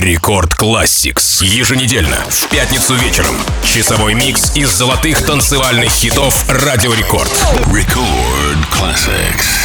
Рекорд Classics. Еженедельно, в пятницу вечером. Часовой микс из золотых танцевальных хитов Радио Рекорд. Record Classics.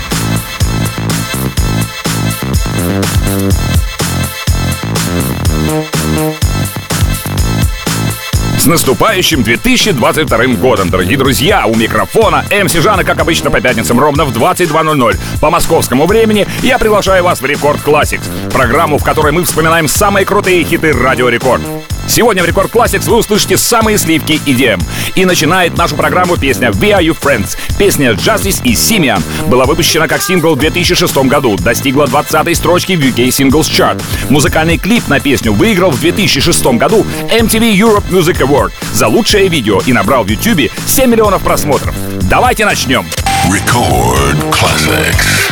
С наступающим 2022 годом, дорогие друзья! У микрофона МС Жана, как обычно, по пятницам ровно в 22:00 по московскому времени. Я приглашаю вас в Рекорд Classics, программу, в которой мы вспоминаем самые крутые хиты Радио Рекорд. Сегодня в Рекорд Classics вы услышите самые сливки EDM. И начинает нашу программу песня «We Are You Friends». Песня Justice и Simian была выпущена как сингл в 2006 году, достигла 20-й строчки в UK Singles Chart. Музыкальный клип на песню выиграл в 2006 году MTV Europe Music Award за лучшее видео и набрал в YouTube 7 миллионов просмотров. Давайте начнем. Record Classics.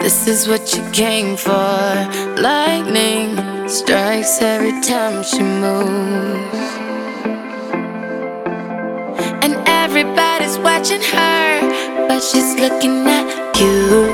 This is what you came for. Lightning strikes every time she moves, and everybody's watching her, but she's looking at you.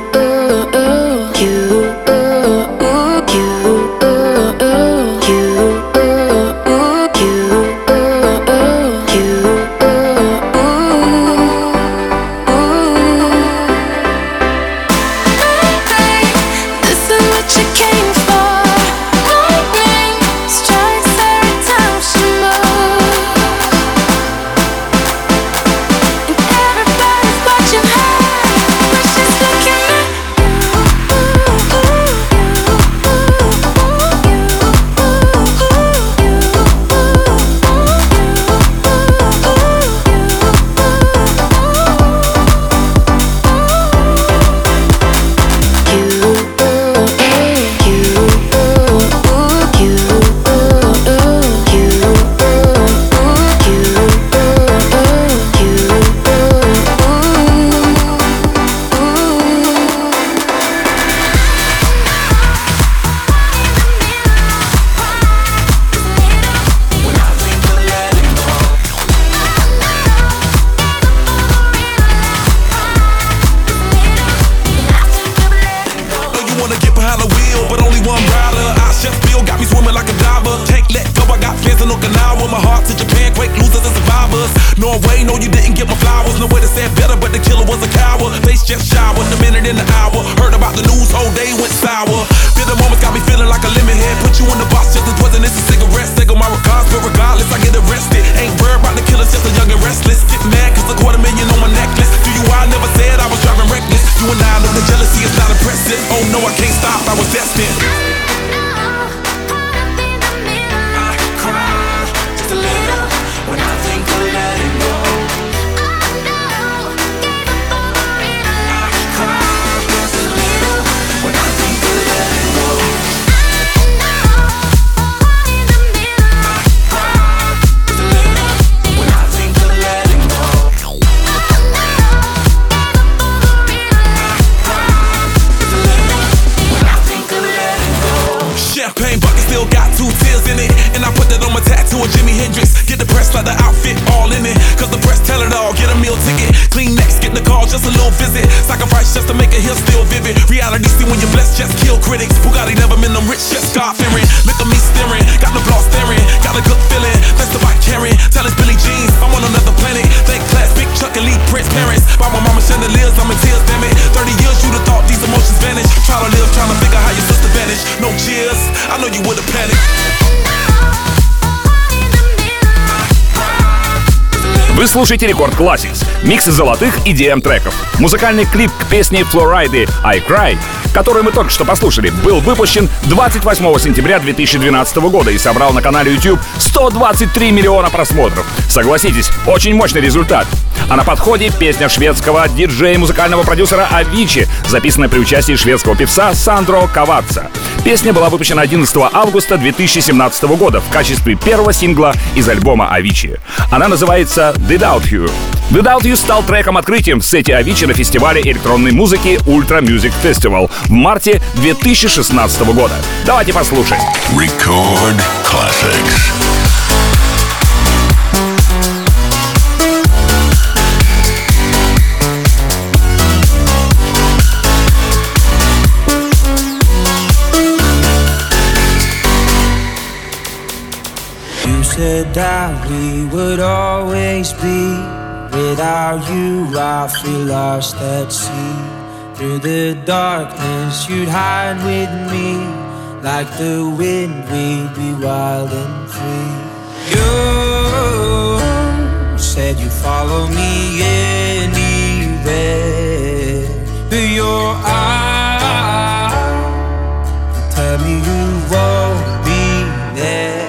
Вы слушаете Рекорд Classics, микс из золотых EDM-треков. Музыкальный клип к песне Флорайды «I Cry», который мы только что послушали, был выпущен 28 сентября 2012 года и собрал на канале YouTube 123 миллиона просмотров. Согласитесь, очень мощный результат. А на подходе песня шведского диджея и музыкального продюсера Avicii, записанная при участии шведского певца Сандро Каваца. Песня была выпущена 11 августа 2017 года в качестве первого сингла из альбома Avicii. Она называется «Without You». «Without You» стал треком-открытием в сете Avicii на фестивале электронной музыки Ultra Music Festival в марте 2016 года. Давайте послушаем. Record Classics. Said that we would always be. Without you I feel lost at sea. Through the darkness you'd hide with me. Like the wind we'd be wild and free. You said you'd follow me anywhere. But your eyes tell me you won't be there.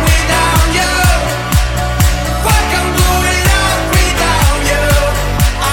I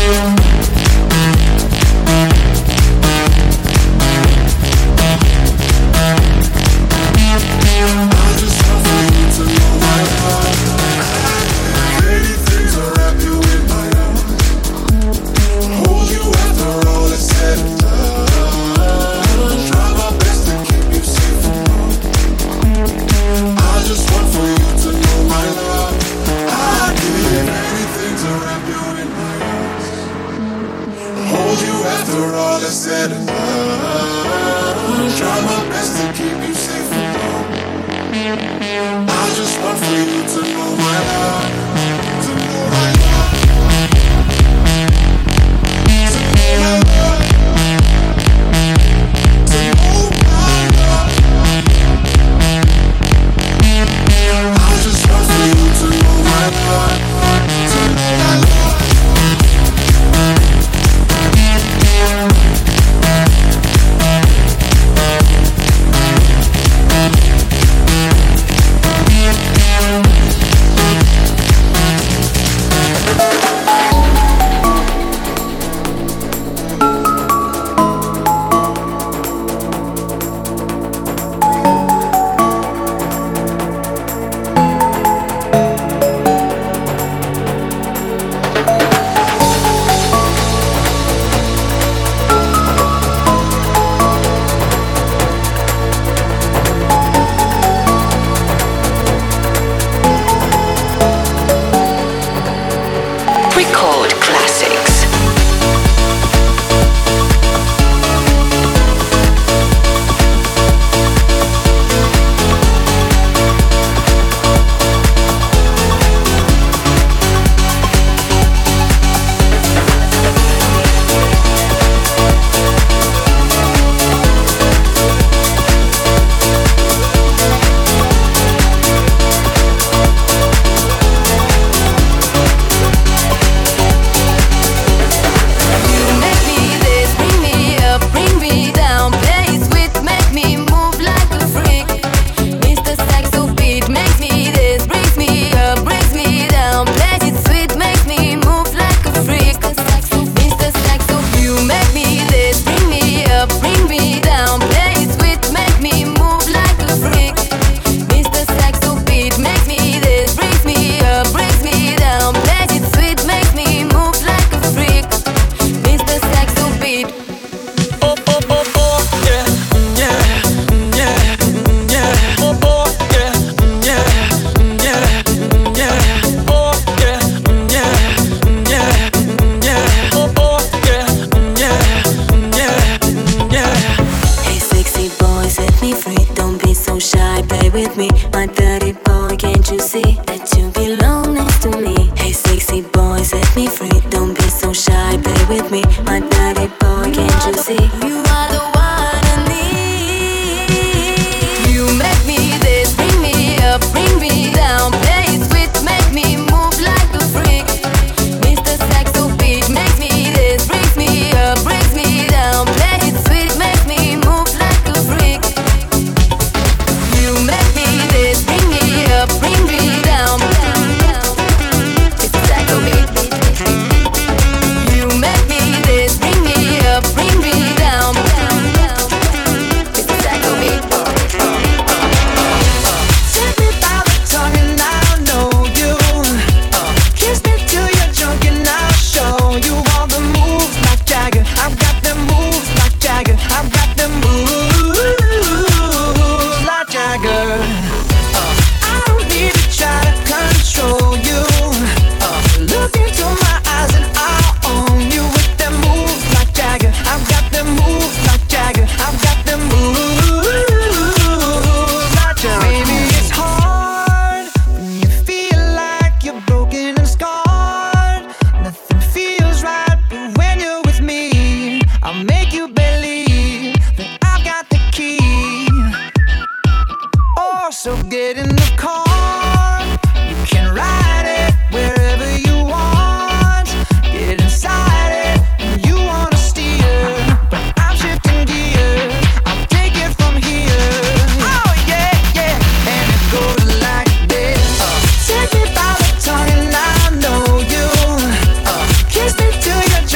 Kiss me till you're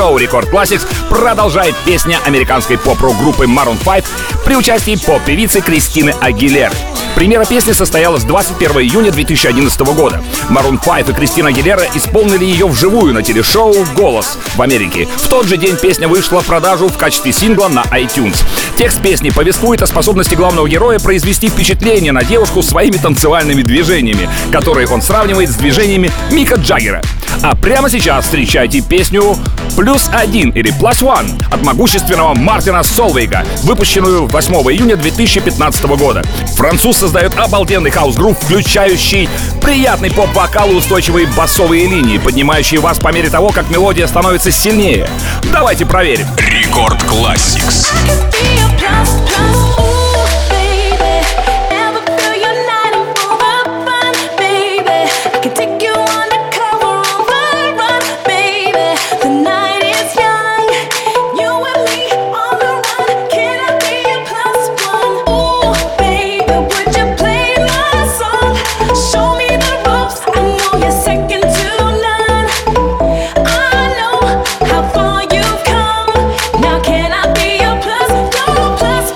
Шоу Рекорд Classics продолжает песня американской поп-рок группы Maroon 5 при участии поп-певицы Кристины Агилеры. Премьера песни состоялась 21 июня 2011 года. Maroon 5 и Кристина Агилера исполнили ее вживую на телешоу «Голос» в Америке. В тот же день песня вышла в продажу в качестве сингла на iTunes. Текст песни повествует о способности главного героя произвести впечатление на девушку своими танцевальными движениями, которые он сравнивает с движениями Мика Джаггера. А прямо сейчас встречайте песню «+1» или «Plus One» от могущественного Мартина Солвейга, выпущенную 8 июня 2015 года. Француз создает обалденный хаус-грув, включающий приятный поп-вокал и устойчивые басовые линии, поднимающие вас по мере того, как мелодия становится сильнее. Давайте проверим. Рекорд Classics. Plus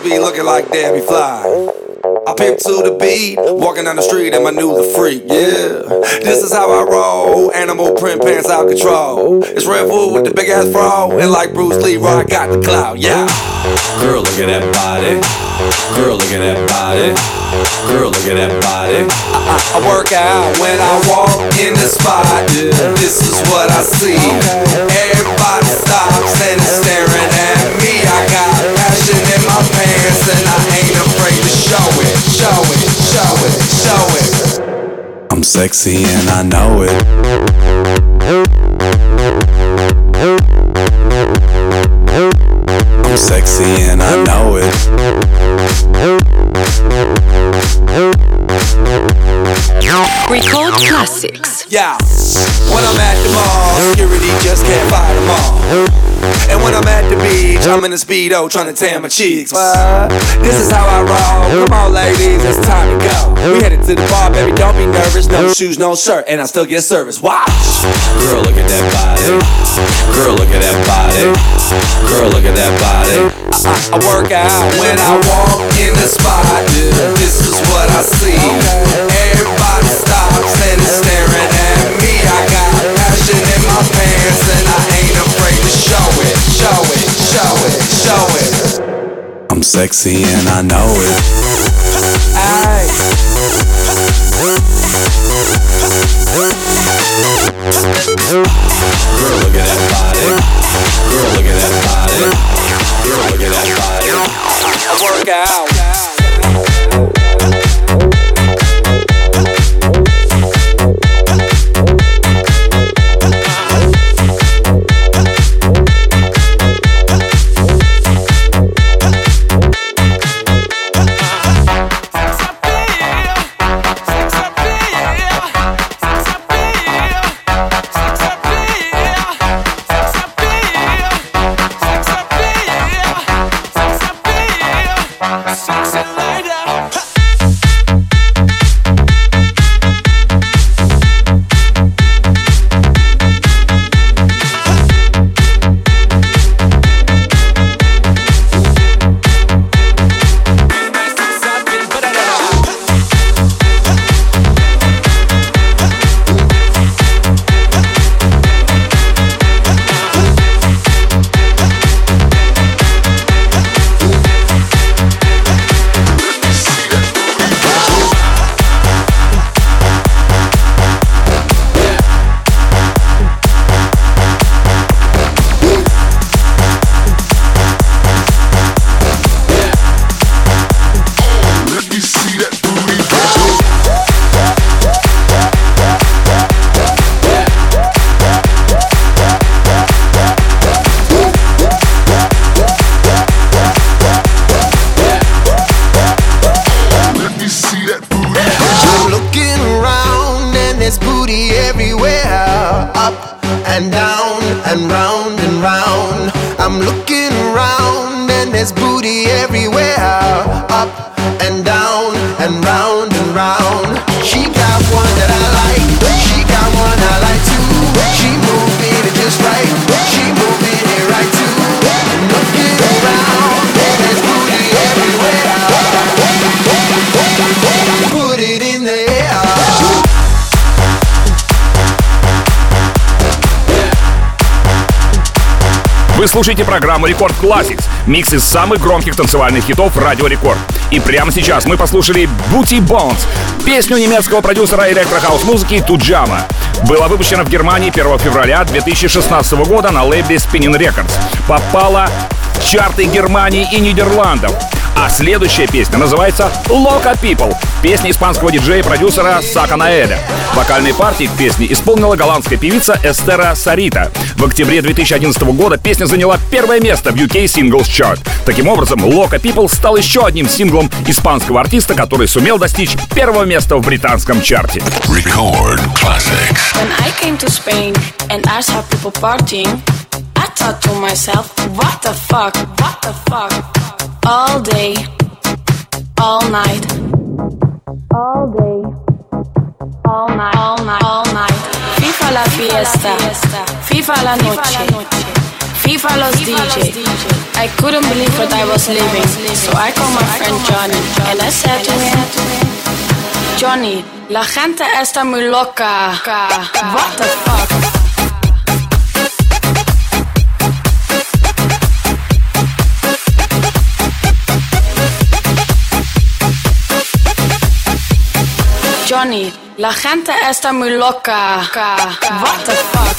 be looking like Debbie Fly. I pimp to the beat, walking down the street and my new the freak, yeah. This is how I roll, animal print pants out control. It's Red Bull with the big ass fro, and like Bruce Lee, I got the clout, yeah. Girl, look at that body. Girl, look at that body. Girl, look at that body. I work out when I walk in the spot. This is what I see. Everybody stops and is staring at me. I got passion in my pants and I ain't afraid to show it. Show it, show it, show it. I'm sexy and I know it. I'm sexy and I know it. Record classics. Yeah, when I'm at the mall, security just can't fight them all. And when I'm at the beach, I'm in a Speedo trying to tan my cheeks. What? This is how I roll. Come on, ladies, it's time to go. We headed to the bar, baby, don't be nervous. No shoes, no shirt, and I still get service. Watch. Girl, look at that body. Girl, look at that body. Girl, look at that body. I work out when I walk in the spot. This is what I see. Everybody stops and is staring at me. I got passion in my pants and I ain't afraid to show it, show it, show it, show it. I'm sexy and I know it. Ay. Girl, look at that body. Girl, look at that body. Girl, look at that body. I work out. Вы слушаете программу Рекорд Classics, микс из самых громких танцевальных хитов Радио Рекорд. И прямо сейчас мы послушали Booty Bounce, песню немецкого продюсера электрохаус-музыки Туджама. Была выпущена в Германии 1 февраля 2016 года на лейбле Spinning Records. Попала в чарты Германии и Нидерландов. А следующая песня называется «Loca People», песня испанского диджея и продюсера Сака Наэля. Вокальные партии к песне исполнила голландская певица Эстера Сарита. В октябре 2011 года песня заняла первое место в UK Singles Chart. Таким образом, «Loca People» стал еще одним синглом испанского артиста, который сумел достичь первого места в британском чарте. Record Classics. When I came to Spain and I saw people partying, I thought to myself, what the fuck, what the fuck? All day, all night, all day, all night, all night, all night. FIFA la fiesta, FIFA la noche, Viva los DJ. I couldn't believe what I was leaving, so I called my friend Johnny and I said to him, Johnny, la gente está muy loca. What the fuck? Johnny, la gente está muy loca. What the fuck?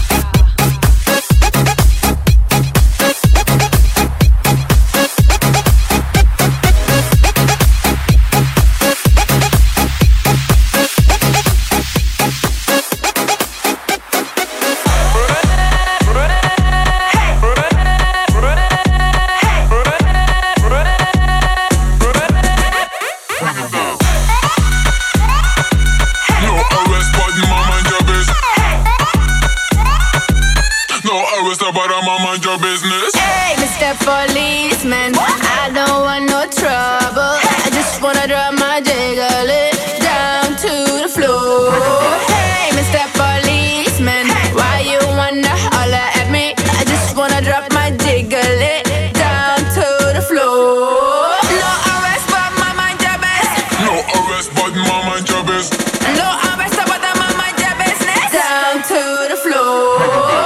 Your business. Hey, Mr. Policeman, I don't want no trouble. I just wanna drop my jiggle it down to the floor. Hey, Mr. Policeman, why you wanna holler at me? I just wanna drop my jiggle it down to the floor. No arrest, but my mind your business. No arrest, but my mind your business. No arrest, but my mind your business. Down to the floor.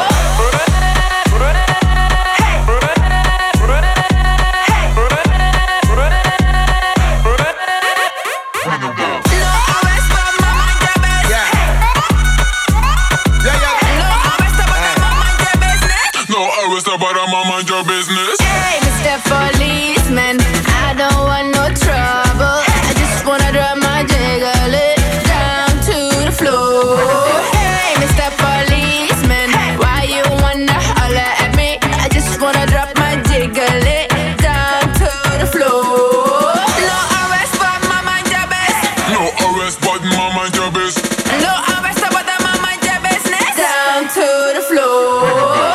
But I'm on mind your business. Hey, Mr. Policeman, I don't want no trouble. I just wanna drop my jiggle it down to the floor. Hey, Mr. Policeman, why you wanna holler at me? I just wanna drop my jiggle it down to the floor. No arrest, but my mind your business. No arrest, but my mind your business. No arrest, but my mind your business. Down to the floor.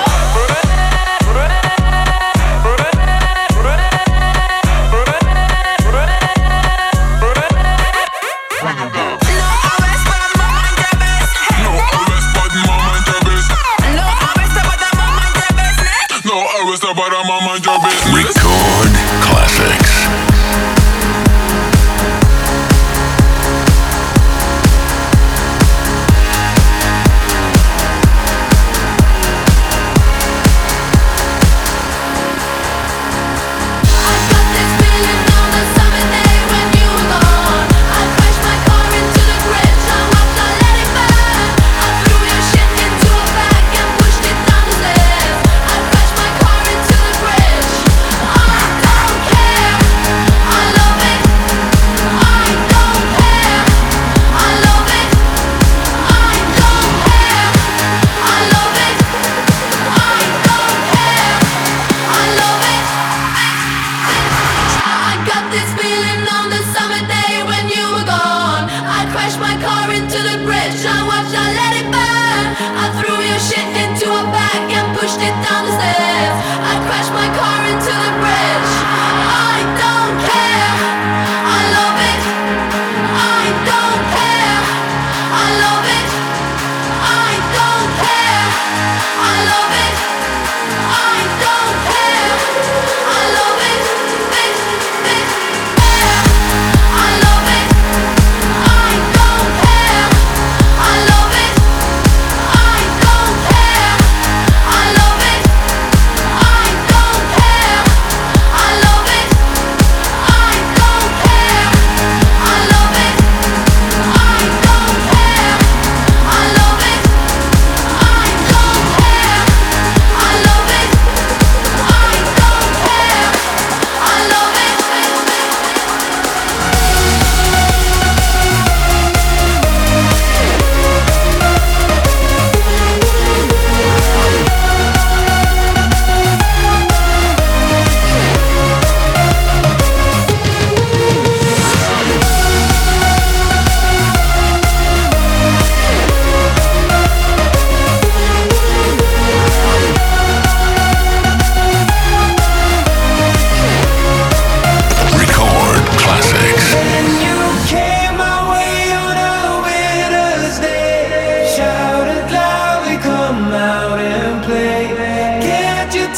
But I'm on mind your business. Record classics.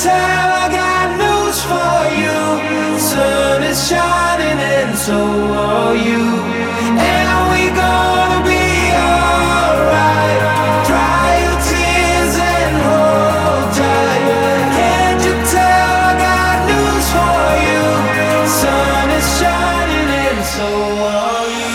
tell, I got news for you. Sun is shining and so are you. And we gonna be alright. Dry your tears and hold tight. Can't you tell, I got news for you. Sun is shining and so are you.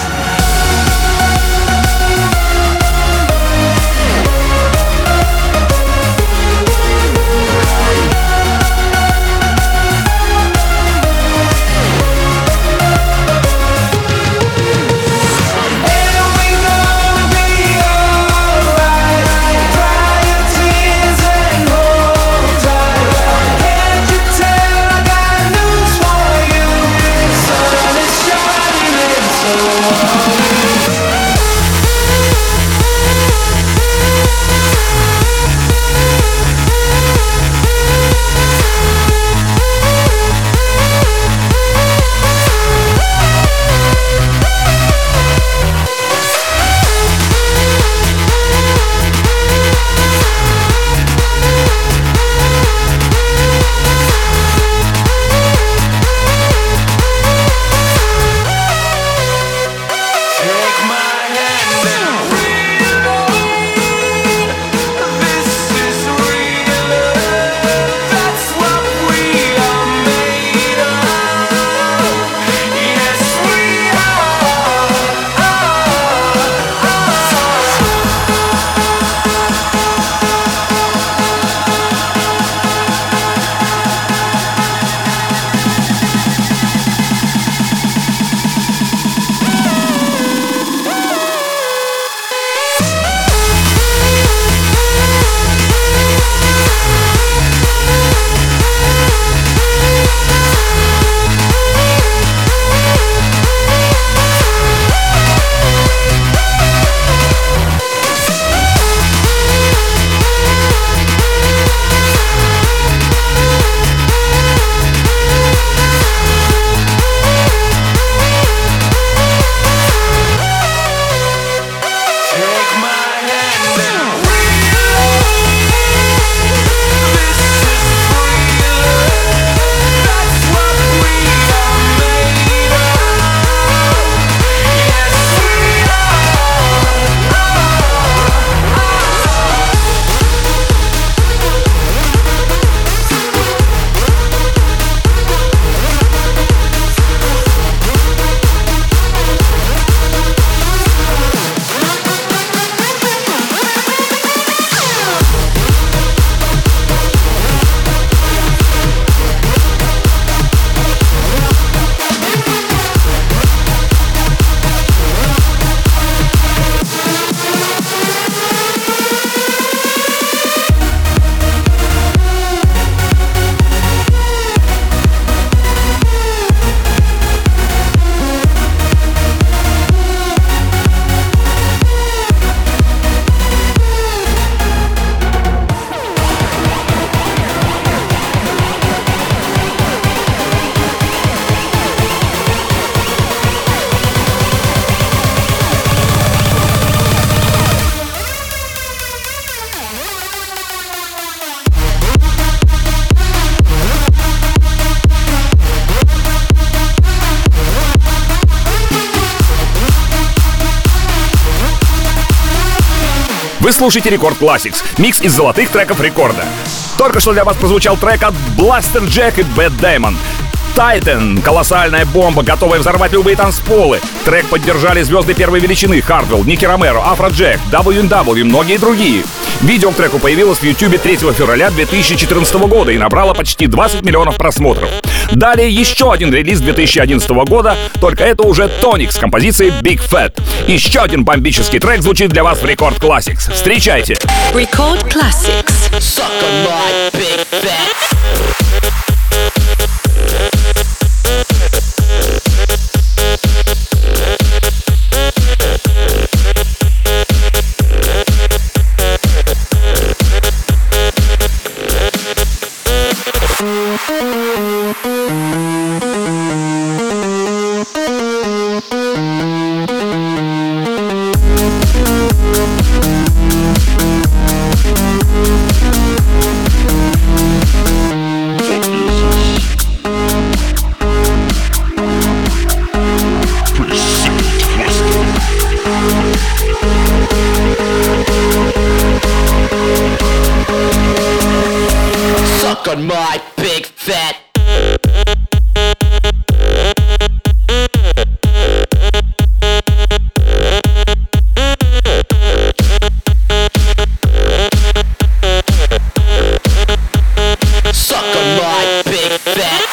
Вы слушаете Рекорд Classics, микс из золотых треков рекорда. Только что для вас прозвучал трек от Blaster Jack и Bad Damon. Titan — колоссальная бомба, готовая взорвать любые танцполы. Трек поддержали звезды первой величины: Хардвелл, Ники Ромеро, Афроджек, W&W и многие другие. Видео к треку появилось в YouTube 3 февраля 2014 года и набрало почти 20 миллионов просмотров. Далее еще один релиз 2011 года, только это уже Тоник с композицией Big Fat. Еще один бомбический трек звучит для вас в Рекорд Classics. Встречайте! Record Classics. Suck on my big fat. Suck on my big fat. Suck on my big fat.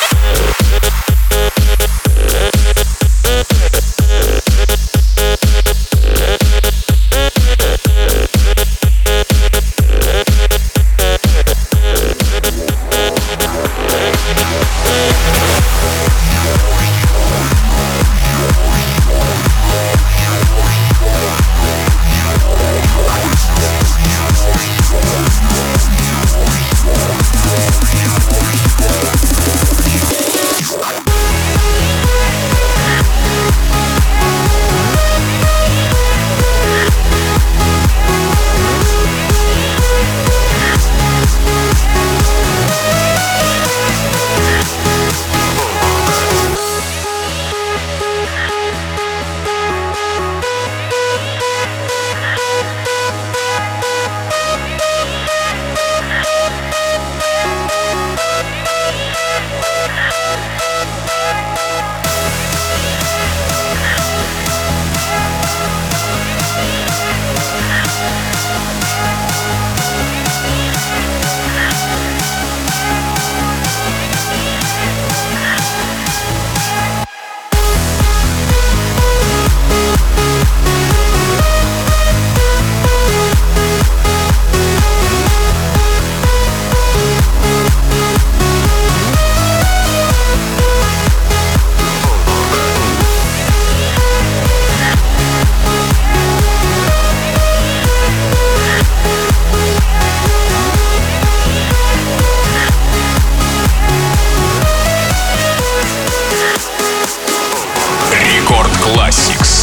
Classics.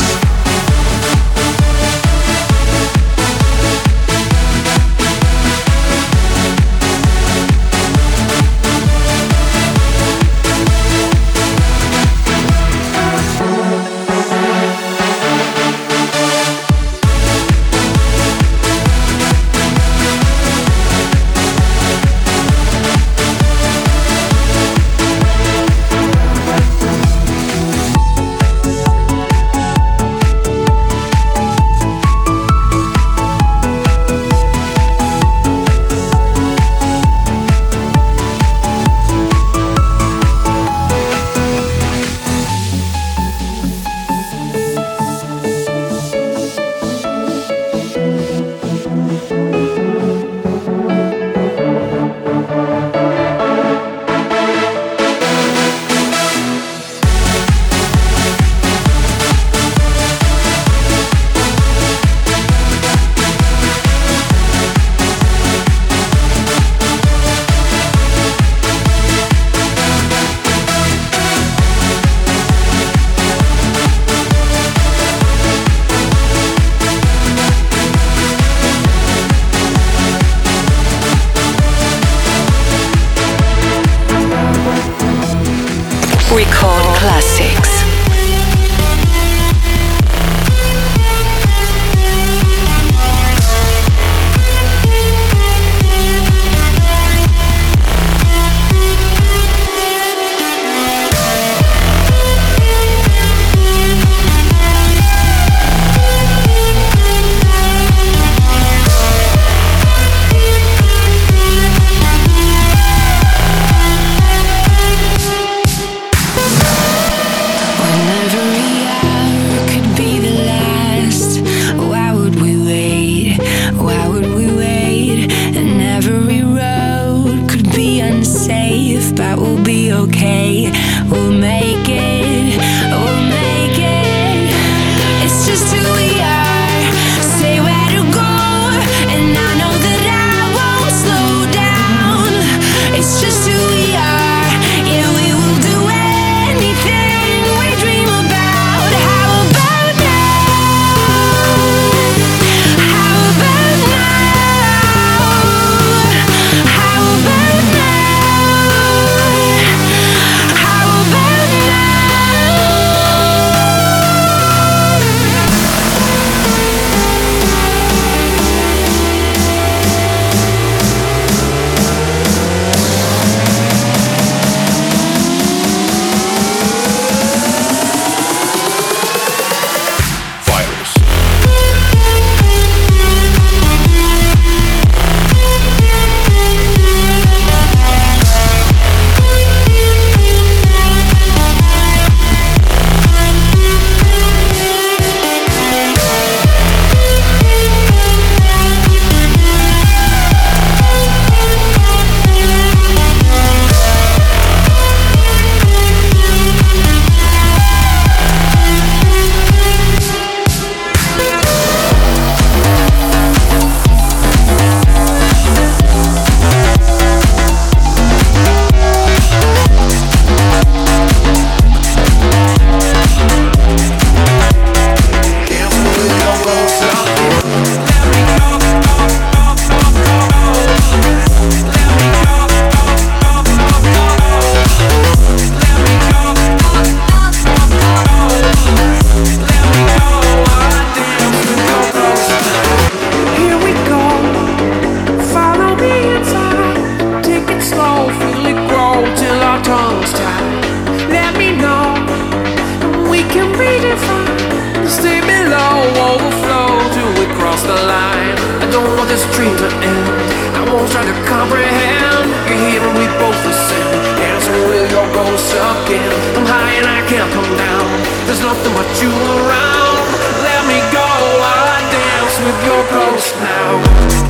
Record Classics. your ghost now.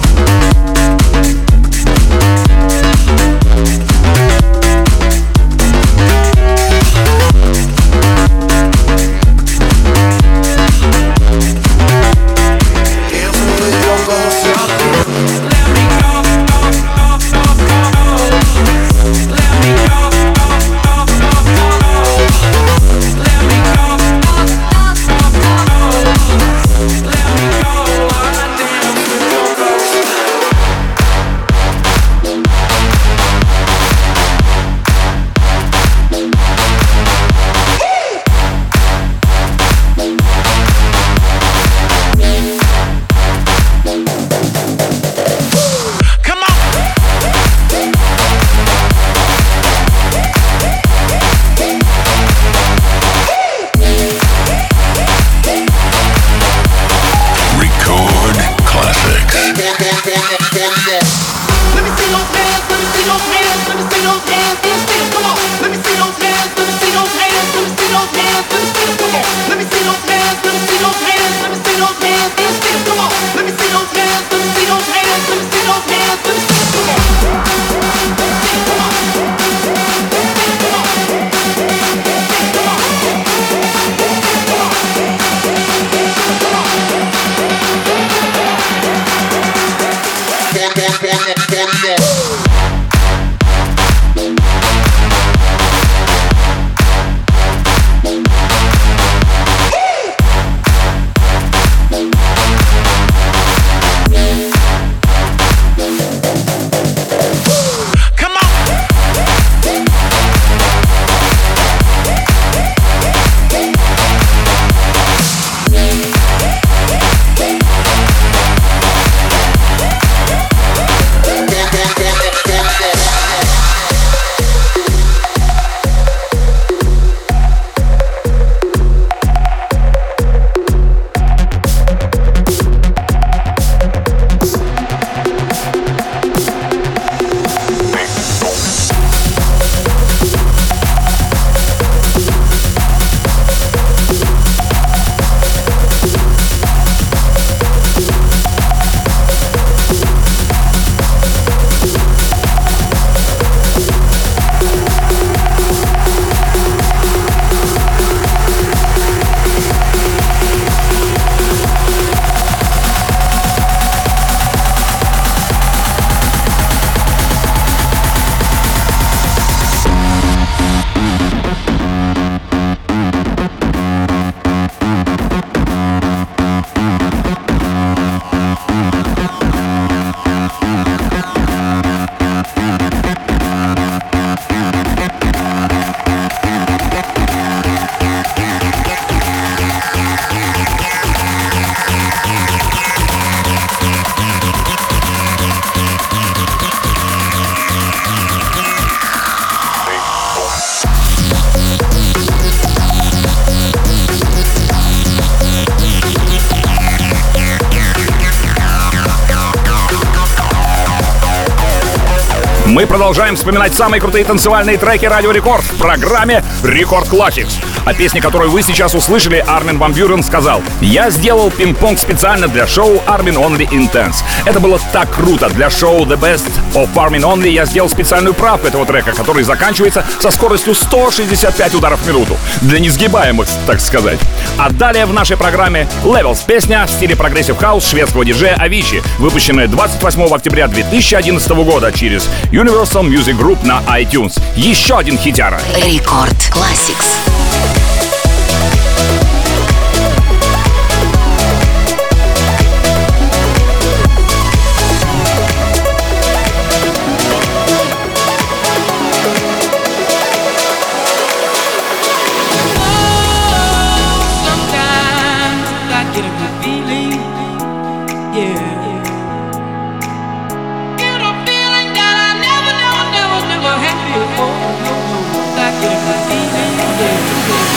Мы продолжаем вспоминать самые крутые танцевальные треки Радио Рекорд в программе Рекорд Classics. О песне, которую вы сейчас услышали, Армин ван Бюрен сказал: «Я сделал пинг-понг специально для шоу Armin Only Intense. Это было так круто. Для шоу The Best of Armin Only я сделал специальную правку этого трека, который заканчивается со скоростью 165 ударов в минуту. Для несгибаемых, так сказать». А далее в нашей программе Levels, песня в стиле прогрессив хаус шведского диджея Avicii, выпущенная 28 октября 2011 года через Universal Music Group на iTunes. Еще один хитяра. Рекорд Classics. Never had before. Like it, yeah.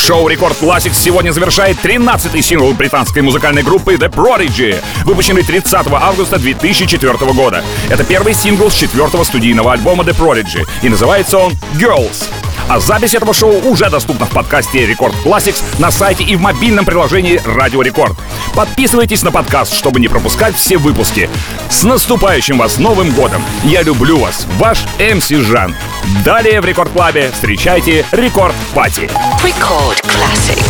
Шоу Рекорд Classics сегодня завершает 13-й сингл британской музыкальной группы The Prodigy, выпущенный 30 августа 2004 года. Это первый сингл с 4-го студийного альбома The Prodigy, и называется он Girls. А запись этого шоу уже доступна в подкасте Рекорд Classics на сайте и в мобильном приложении Радио Рекорд. Подписывайтесь на подкаст, чтобы не пропускать все выпуски. С наступающим вас Новым годом! Я люблю вас, ваш МС Жан. Далее в Рекорд Клабе встречайте Рекорд Пати. Record Classics.